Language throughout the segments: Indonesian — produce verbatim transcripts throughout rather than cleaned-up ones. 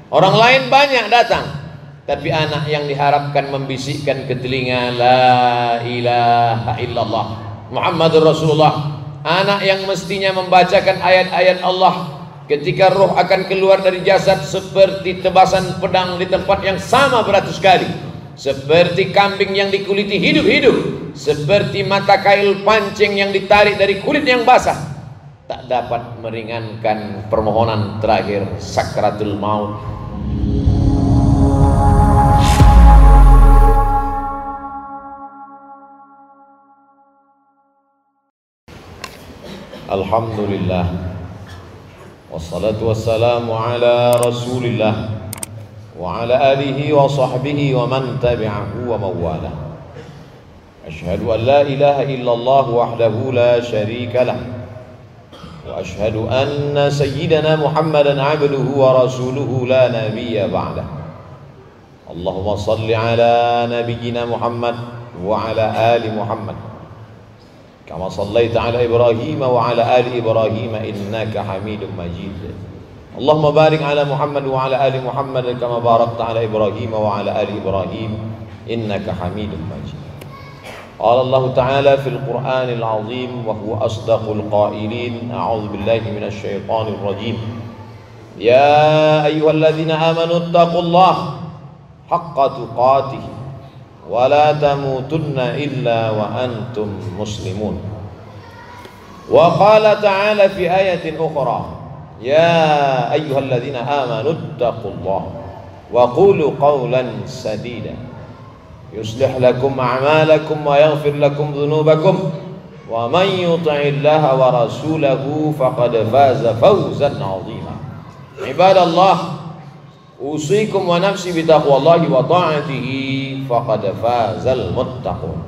Orang lain banyak datang, tapi anak yang diharapkan membisikkan ke telinga la ilaha illallah Muhammadur Rasulullah, anak yang mestinya membacakan ayat-ayat Allah ketika roh akan keluar dari jasad seperti tebasan pedang di tempat yang sama beratus kali, seperti kambing yang dikuliti hidup-hidup, seperti mata kail pancing yang ditarik dari kulit yang basah, tak dapat meringankan permohonan terakhir sakratul maut. Alhamdulillah, wassalatu wassalamu ala rasulillah wa ala alihi wa sahbihi wa man tabi'ahu wa mawala. Ashhadu an la ilaha illallah wahdahu la sharika lah, wa ashhadu anna sayyidana Muhammadan abduhu wa rasuluhu la nabiyya ba'dah. Allahumma salli ala nabiyyina Muhammad wa ala ali Muhammad kama sallaita ala Ibrahim wa ala ali Ibrahim innaka Hamidum Majid. Allahumma barik ala Muhammad wa ala ali Muhammad kama barakta ala Ibrahim wa ala ali Ibrahim innaka Hamidum Majid. Qala Allah Ta'ala fil Qur'anil Azim wa huwa asdaqul qailin. A'udzu billahi minasy syaithanir rajim. Ya ayyuhalladzina amanu taqullaha haqqa tuqatih wa la tamutunna illa wa antum muslimun. Wa qala ta'ala fi ayatin ukhra, ya ayyuhalladzina amanu taqullaha wa qulu qawlan sadida yuslih lakum a'malakum wa yaghfir lakum dhunubakum wa man yuti'illaha wa rasulahu faqad faza fawzan 'azima. Ibadallah, usikum wa nafsi bitaqwallahi wa ta'atihi faqad fazal muttaqun.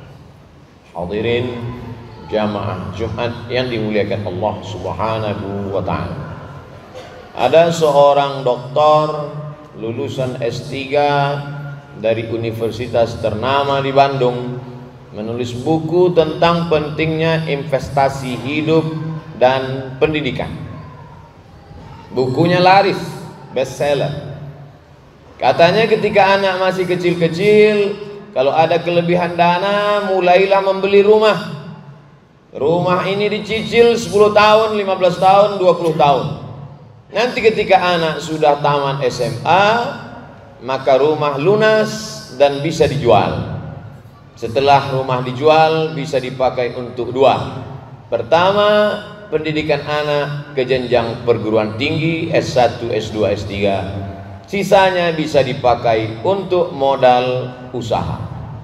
Hadirin jamaah Jumat yang dimuliakan Allah Subhanahu wa ta'ala. Ada seorang doktor lulusan S tiga dari universitas ternama di Bandung menulis buku tentang pentingnya investasi hidup dan pendidikan. Bukunya laris, bestseller. Katanya ketika anak masih kecil-kecil, kalau ada kelebihan dana, mulailah membeli rumah. Rumah ini dicicil sepuluh tahun, lima belas tahun, dua puluh tahun. Nanti ketika anak sudah tamat S M A, maka rumah lunas dan bisa dijual. Setelah rumah dijual, bisa dipakai untuk dua. Pertama, pendidikan anak ke jenjang perguruan tinggi S satu, S dua, S tiga. Sisanya bisa dipakai untuk modal usaha.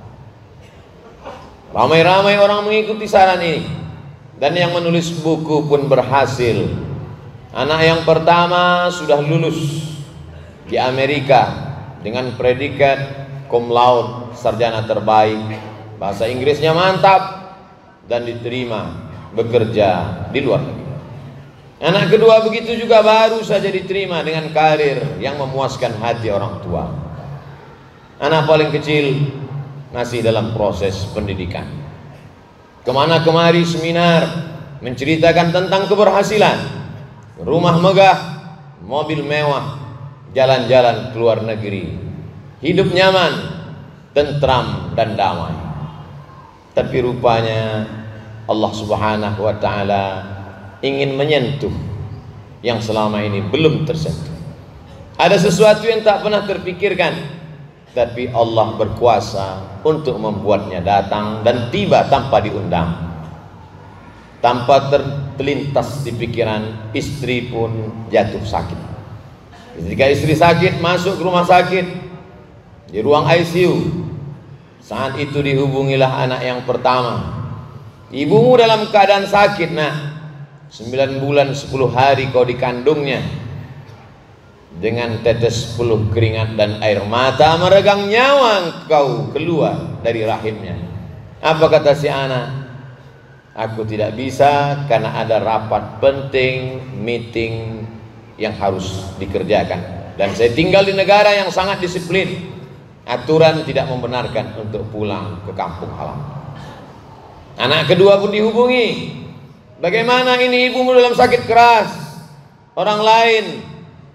Ramai-ramai orang mengikuti saran ini, dan yang menulis buku pun berhasil. Anak yang pertama sudah lulus di Amerika dengan predikat cum laude, sarjana terbaik, bahasa Inggrisnya mantap, dan diterima bekerja di luar negeri. Anak kedua begitu juga, baru saja diterima dengan karir yang memuaskan hati orang tua. Anak paling kecil masih dalam proses pendidikan. Kemana kemari seminar menceritakan tentang keberhasilan, rumah megah, mobil mewah, jalan-jalan ke luar negeri, hidup nyaman, tentram dan damai. Tapi rupanya Allah Subhanahu wa ta'ala ingin menyentuh yang selama ini belum tersentuh. Ada sesuatu yang tak pernah terpikirkan, tapi Allah berkuasa untuk membuatnya datang dan tiba tanpa diundang. Tanpa terlintas di pikiran, istri pun jatuh sakit. Ketika istri sakit, masuk ke rumah sakit di ruang I C U. Saat itu dihubungilah anak yang pertama. Ibumu dalam keadaan sakit, nak. Sembilan bulan sepuluh hari kau dikandungnya. Dengan tetes sepuluh keringat dan air mata meregang nyawa kau keluar dari rahimnya. Apa kata si anak? Aku tidak bisa karena ada rapat penting, meeting yang harus dikerjakan. Dan saya tinggal di negara yang sangat disiplin. Aturan tidak membenarkan untuk pulang ke kampung halaman. Anak kedua pun dihubungi. Bagaimana ini ibumu dalam sakit keras? Orang lain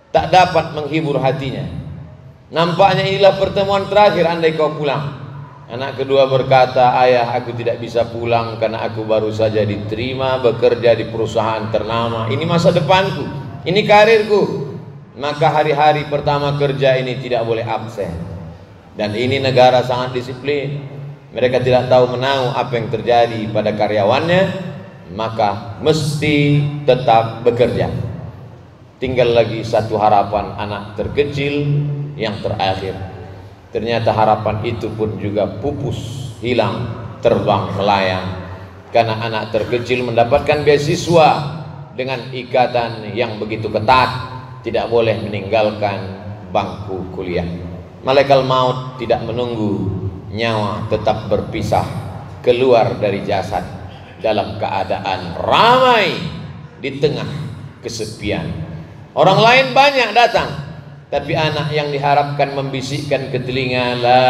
tak dapat menghibur hatinya. Nampaknya inilah pertemuan terakhir andai kau pulang. Anak kedua berkata, ayah, aku tidak bisa pulang karena aku baru saja diterima bekerja di perusahaan ternama. Ini masa depanku, ini karirku. Maka hari-hari pertama kerja ini tidak boleh absen. Dan ini negara sangat disiplin. Mereka tidak tahu menahu apa yang terjadi pada karyawannya, maka mesti tetap bekerja. Tinggal lagi satu harapan, anak terkecil yang terakhir. Ternyata harapan itu pun juga pupus, hilang, terbang melayang. Karena anak terkecil mendapatkan beasiswa dengan ikatan yang begitu ketat, tidak boleh meninggalkan bangku kuliah. Malaikat maut tidak menunggu, nyawa tetap berpisah keluar dari jasad dalam keadaan ramai di tengah kesepian. Orang lain banyak datang, tapi anak yang diharapkan membisikkan ke telinga, la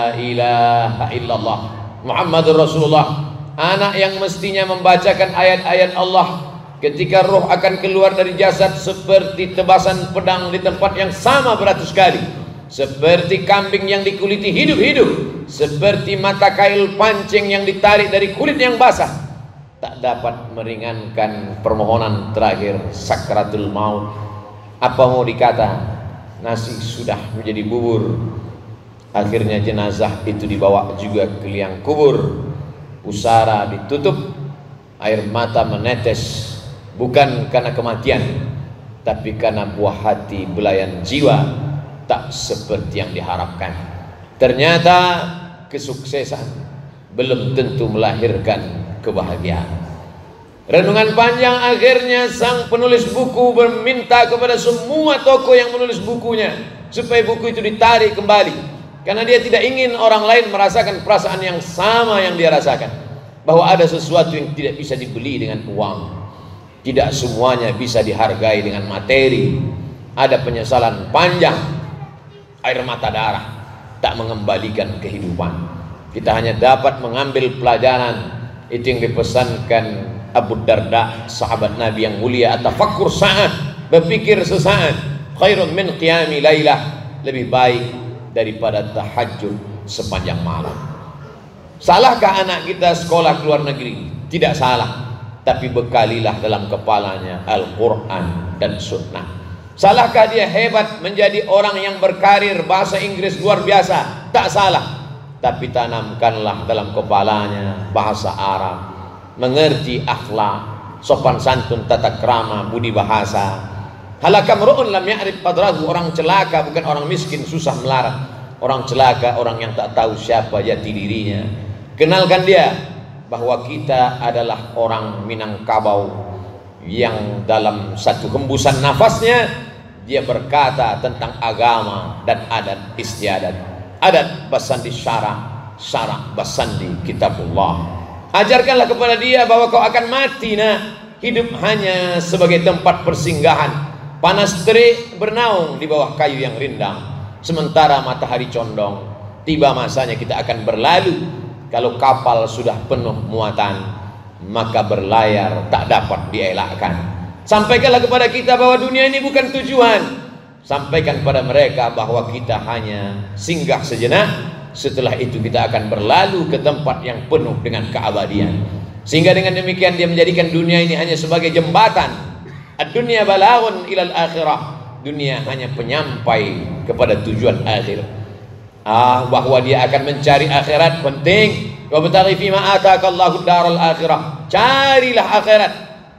ilaha illallah Muhammadur Rasulullah. Anak yang mestinya membacakan ayat-ayat Allah ketika roh akan keluar dari jasad seperti tebasan pedang di tempat yang sama beratus kali, seperti kambing yang dikuliti hidup-hidup, seperti mata kail pancing yang ditarik dari kulit yang basah, tak dapat meringankan permohonan terakhir sakratul maut. Apa mau dikata, nasi sudah menjadi bubur. Akhirnya jenazah itu dibawa juga ke liang kubur. Pusara ditutup, air mata menetes, bukan karena kematian, tapi karena buah hati belayan jiwa tak seperti yang diharapkan. Ternyata kesuksesan belum tentu melahirkan kebahagiaan. Renungan panjang akhirnya sang penulis buku meminta kepada semua tokoh yang menulis bukunya supaya buku itu ditarik kembali, karena dia tidak ingin orang lain merasakan perasaan yang sama yang dia rasakan, bahwa ada sesuatu yang tidak bisa dibeli dengan uang, tidak semuanya bisa dihargai dengan materi. Ada penyesalan panjang, air mata darah tak mengembalikan kehidupan. Kita hanya dapat mengambil pelajaran. Itu yang dipesankan Abu Darda, sahabat Nabi yang mulia, atafakkur sa'at, berpikir sesaat, khairun min qiyami lailah, lebih baik daripada tahajud sepanjang malam. Salahkah anak kita sekolah ke luar negeri? Tidak salah, tapi bekalilah dalam kepalanya Al-Quran dan Sunnah. Salahkah dia hebat menjadi orang yang berkarir bahasa Inggris luar biasa? Tak salah, tapi tanamkanlah dalam kepalanya bahasa Arab, mengerti akhlak, sopan santun, tata krama, budi bahasa. Halakam ru'un lam ya'rif qadrahu, orang celaka bukan orang miskin susah melarat, orang celaka orang yang tak tahu siapa jati dirinya. Kenalkan dia bahwa kita adalah orang Minangkabau yang dalam satu hembusan nafasnya dia berkata tentang agama dan adat istiadat. Adat basandi syara, syara basandi kitabullah. Ajarkanlah kepada dia bahwa kau akan mati, nah. Hidup hanya sebagai tempat persinggahan. Panas terik bernaung di bawah kayu yang rindang, sementara matahari condong. Tiba masanya kita akan berlalu. Kalau kapal sudah penuh muatan, maka berlayar tak dapat dielakkan. Sampaikanlah kepada kita bahwa dunia ini bukan tujuan. Sampaikan pada mereka bahwa kita hanya singgah sejenak. Setelah itu kita akan berlalu ke tempat yang penuh dengan keabadian. Sehingga dengan demikian dia menjadikan dunia ini hanya sebagai jembatan. Ad-dunya balaghun ilal akhirah. Dunia hanya penyampai kepada tujuan akhir. Ah, bahwa dia akan mencari akhirat penting. Wa bataghi fima ataakallahu daral akhirah. Carilah akhirat.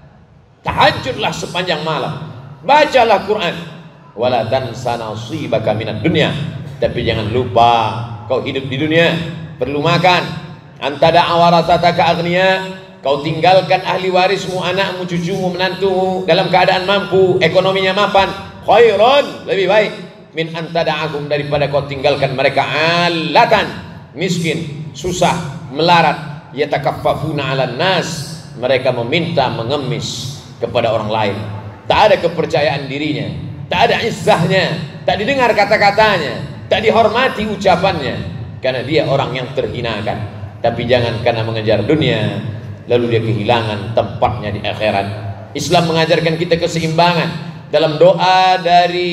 Tahajudlah sepanjang malam. Bacalah Quran. Wala tansa nasibaka minad dunya. Tapi jangan lupa kau hidup di dunia, perlu makan. Antada awarasataka aghnia, kau tinggalkan ahli warismu, anakmu, cucumu, menantumu dalam keadaan mampu, ekonominya mapan. Khairun, lebih baik min antada'ahum, daripada kau tinggalkan mereka alatan, miskin, susah, melarat, yatakaffafuna 'alan nas, mereka meminta mengemis kepada orang lain. Tak ada kepercayaan dirinya, tak ada izzahnya, tak didengar kata-katanya, tak dihormati ucapannya, karena dia orang yang terhinakan. Tapi jangan karena mengejar dunia lalu dia kehilangan tempatnya di akhirat. Islam mengajarkan kita keseimbangan. dalam doa dari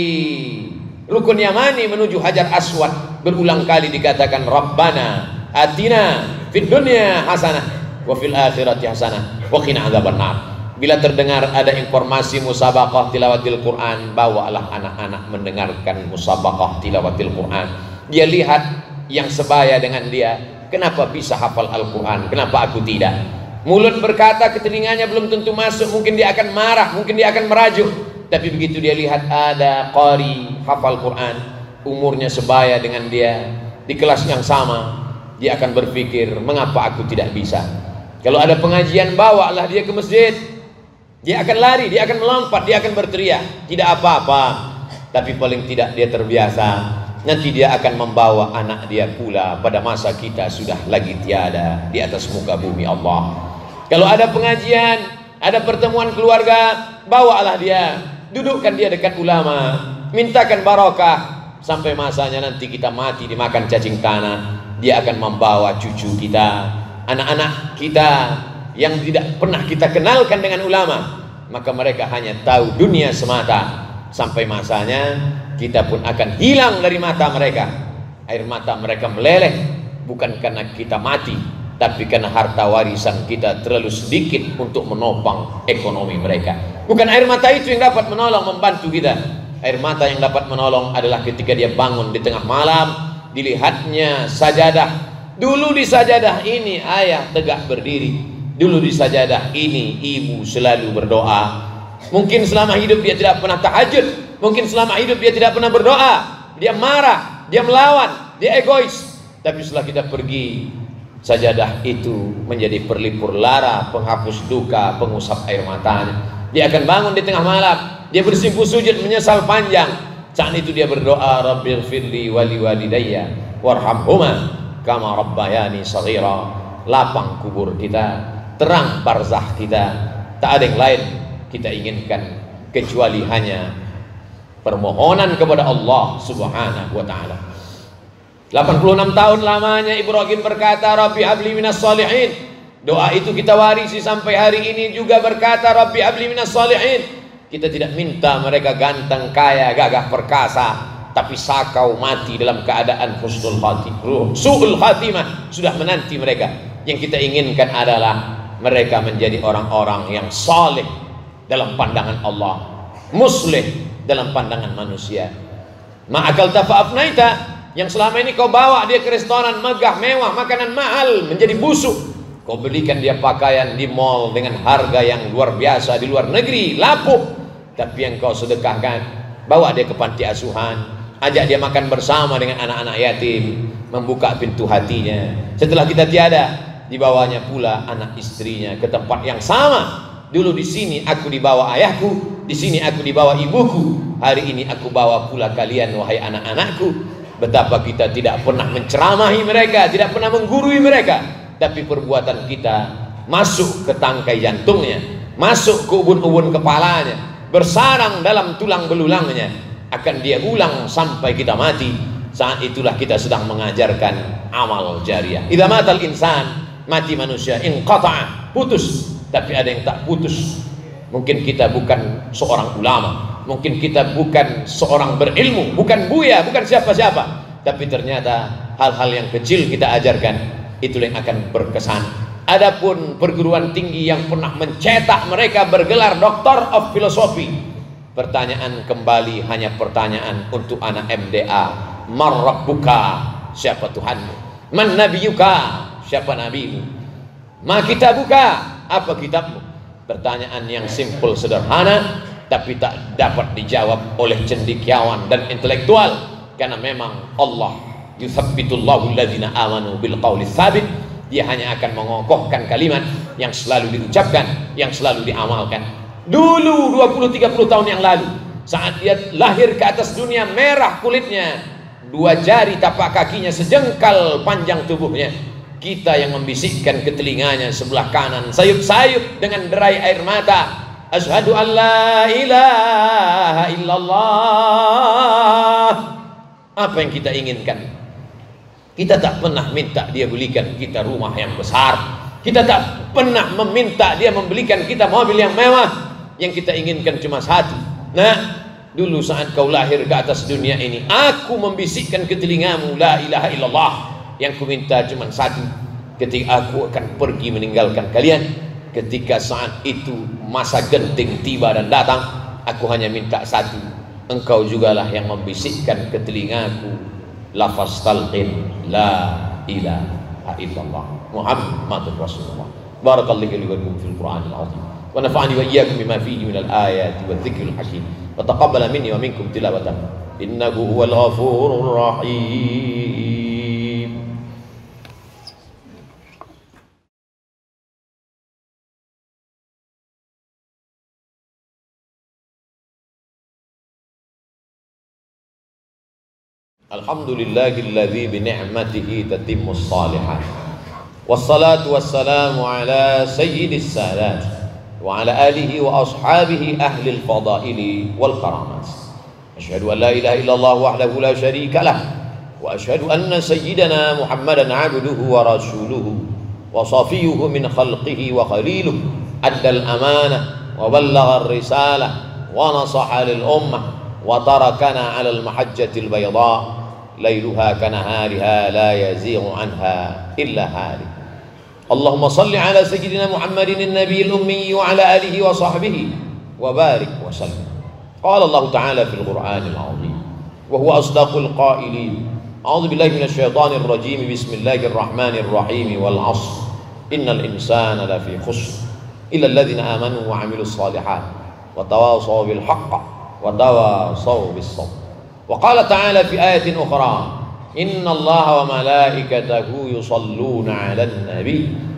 Rukun Yamani menuju Hajar Aswad berulang kali dikatakan Rabbana atina fid dunya hasanah wa fil akhirati hasanah wa qina adzabannar. Bila terdengar ada informasi musabaqah tilawatil Quran, bawalah anak-anak mendengarkan musabaqah tilawatil Quran. Dia lihat yang sebaya dengan dia, kenapa bisa hafal Al-Quran, kenapa aku tidak? Mulut berkata ke telinganya belum tentu masuk, mungkin dia akan marah, mungkin dia akan merajuk. Tapi begitu dia lihat ada qari hafal Quran, umurnya sebaya dengan dia, di kelas yang sama, dia akan berpikir, mengapa aku tidak bisa? Kalau ada pengajian, bawalah dia ke masjid. Dia akan lari, dia akan melompat, dia akan berteriak, tidak apa-apa. Tapi paling tidak dia terbiasa. Nanti dia akan membawa anak dia pula pada masa kita sudah lagi tiada di atas muka bumi Allah. Kalau ada pengajian, ada pertemuan keluarga, bawalah dia, dudukkan dia dekat ulama, mintakan barokah sampai masanya nanti kita mati dimakan cacing tanah. Dia akan membawa cucu kita, anak-anak kita yang tidak pernah kita kenalkan dengan ulama, maka mereka hanya tahu dunia semata. Sampai masanya kita pun akan hilang dari mata mereka. Air mata mereka meleleh bukan karena kita mati, tapi karena harta warisan kita terlalu sedikit untuk menopang ekonomi mereka. Bukan air mata itu yang dapat menolong, membantu kita. Air mata yang dapat menolong adalah ketika dia bangun di tengah malam, dilihatnya sajadah. Dulu di sajadah ini ayah tegak berdiri, dulu di sajadah ini ibu selalu berdoa. Mungkin selama hidup dia tidak pernah tahajud, mungkin selama hidup dia tidak pernah berdoa, dia marah, dia melawan, dia egois. Tapi setelah kita pergi, sajadah itu menjadi perlipur lara, penghapus duka, pengusap air matanya. Dia akan bangun di tengah malam, dia bersimpuh sujud menyesal panjang. Saat itu dia berdoa, Rabbighfirli wali walidayya warhamhuma kama rabbayani shaghira. Lapang kubur kita, terang barzah kita. Tak ada yang lain kita inginkan kecuali hanya permohonan kepada Allah Subhanahu wa taala. delapan puluh enam tahun lamanya Ibrahim berkata, Rabbi habli minas shalihin. Doa itu kita warisi sampai hari ini juga berkata, Rabbi habli minas shalihin. Kita tidak minta mereka ganteng, kaya, gagah perkasa, tapi sakau mati dalam keadaan husnul khatimah, su'ul khatimah sudah menanti mereka. Yang kita inginkan adalah mereka menjadi orang-orang yang saleh dalam pandangan Allah, muslih dalam pandangan manusia. Ma'akal tafa'afnaita, yang selama ini kau bawa dia ke restoran megah mewah, makanan mahal, menjadi busuk. Kau belikan dia pakaian di mall dengan harga yang luar biasa di luar negeri, lapuk. Tapi yang kau sedekahkan, bawa dia ke panti asuhan, ajak dia makan bersama dengan anak-anak yatim, membuka pintu hatinya. Setelah kita tiada, dibawanya pula anak istrinya ke tempat yang sama. Dulu di sini aku dibawa ayahku, di sini aku dibawa ibuku, hari ini aku bawa pula kalian wahai anak-anakku. Betapa kita tidak pernah menceramahi mereka, tidak pernah menggurui mereka, tapi perbuatan kita masuk ke tangkai jantungnya, masuk ke ubun-ubun kepalanya, bersarang dalam tulang belulangnya, akan dia ulang sampai kita mati. Saat itulah kita sedang mengajarkan amal jariah. Idza matal insan, mati manusia, inqata'a, putus. Tapi ada yang tak putus. Mungkin kita bukan seorang ulama, mungkin kita bukan seorang berilmu, bukan buya, bukan siapa-siapa, tapi ternyata hal-hal yang kecil kita ajarkan, itulah yang akan berkesan. Adapun perguruan tinggi yang pernah mencetak mereka bergelar Doctor of Philosophy, pertanyaan kembali hanya pertanyaan untuk anak M D A. Man rabbuka, siapa Tuhanmu? Man nabiyuka, siapa nabimu? Ma kitabuka, apa kitabmu? Pertanyaan yang simpel sederhana, tapi tak dapat dijawab oleh cendekiawan dan intelektual, karena memang Allah yuthabbitullahu alladzina amanu bil qawli tsabit. Dia hanya akan mengokohkan kalimat yang selalu diucapkan, yang selalu diamalkan. Dulu dua puluh tiga puluh tahun yang lalu, saat dia lahir ke atas dunia, merah kulitnya, dua jari tapak kakinya sejengkal panjang tubuhnya, kita yang membisikkan ke telinganya sebelah kanan, sayup-sayup dengan derai air mata, asyhadu an la ilaha illallah. Apa yang kita inginkan? Kita tak pernah minta dia belikan kita rumah yang besar, kita tak pernah meminta dia membelikan kita mobil yang mewah. Yang kita inginkan cuma satu, Nah, dulu saat kau lahir ke atas dunia ini, aku membisikkan ke telingamu la ilaha illallah. Yang ku minta cuma satu, ketika aku akan pergi meninggalkan kalian, ketika saat itu masa genting tiba dan datang, aku hanya minta satu, engkau jugalah yang membisikkan ke telingaku lafaz talqin la ilaha illallah Muhammadur Rasulullah. Barakallahu li wa lakum fil Qur'anil azim wa nafa'ani wa iyyakum bima fihi minal ayati wadh-dhikril hakim wa taqabbala minni wa minkum tilawatan innahu huwal ghafurur rahim. Alhamdulillahilladzi bi ni'matihi tatimmus shalihat. Wassalatu wassalamu ala sayyidis sadat wa ala alihi wa ashabihi ahli al-fadaili wal karamat. Asyhadu an la ilaha illallah wahdahu la syarika lah wa asyhadu anna sayyidana Muhammadan 'abduhu wa rasuluhu wa safiyuhu min khalqihi wa khaliluhu. Adda al-amanah wa ballagha ar-risalah wa nasaha lil ummah wa tarakana 'ala al-mahajjati al-bayda ليلها كنهارها لا يزيغ عنها إلا هالك. اللهم صل على سيدنا محمد النبي الأمي وعلى آله وصحبه وبارك وسلم. قال الله تعالى في القرآن العظيم وهو أصدق القائلين: أعوذ بالله من الشيطان الرجيم بسم الله الرحمن الرحيم والعصر إن الإنسان لفي خسر إلا الذين آمنوا وعملوا الصالحات وتواصوا بالحق وتواصوا بالصبر. وقال تعالى في آية أخرى: إن الله وملائكته يصلون على النبي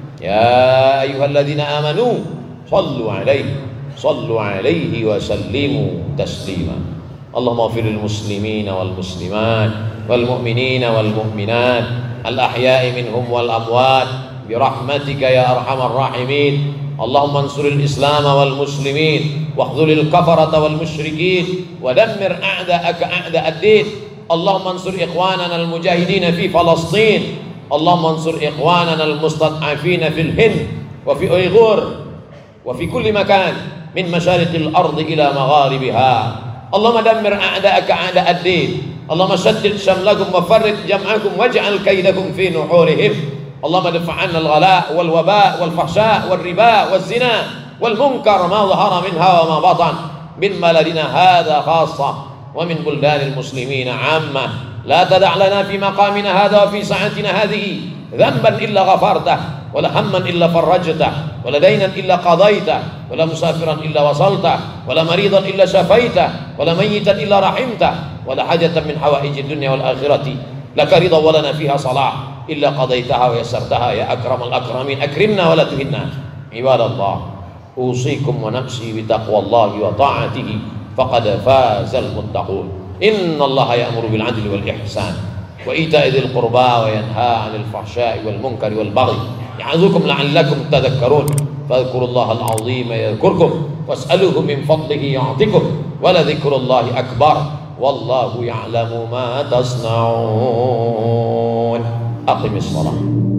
يا أيها الذين آمنوا صلوا عليه صلوا عليه وسلموا تسليما. اللهم اغفر للمسلمين والمسلمات والمؤمنين والمؤمنات الأحياء منهم والأموات برحمتك يا أرحم الراحمين. اللهم انصر الإسلام والمسلمين واخذل الكفرة والمشركين ودمر أعداءك أعداء الدين. اللهم انصر إخواننا المجاهدين في فلسطين. اللهم انصر إخواننا المستضعفين في الهند وفي أيغور وفي كل مكان من مشارق الأرض إلى مغاربها. اللهم دمر أعداءك أعداء الدين. اللهم شتت شملكم وفرق جمعكم واجعل كيدكم في نحورهم. اللهم ادفع عنا الغلاء والوباء والفحشاء والربا والزنا والمنكر ما ظهر منها وما بطن من بلدنا هذا خاصة ومن بلدان المسلمين عامة. لا تدع لنا في مقامنا هذا وفي ساعتنا هذه ذنبا إلا غفرته ولا هما إلا فرجته ولا دينا إلا قضيته ولا مسافرا إلا وصلته ولا مريضا إلا شفيته ولا ميتا إلا رحمته ولا حاجة من حوائج الدنيا والآخرة لك رضا ولنا فيها صلاح إلا قضيتها ويسرتها يا أكرم الأكرمين. أكرمنا ولا تهنا. عباد الله، أوصيكم ونفسي بتقوى الله وطاعته فقد فاز المتقون. إن الله يأمر بالعدل والإحسان وإيتاء ذي القربى وينهى عن الفحشاء والمنكر والبغي يعظكم لعلكم تذكرون. فاذكروا الله العظيم يذكركم واسألوه من فضله يعطكم ولذكر الله أكبر والله يعلم ما تصنعون. أقم الصلاة.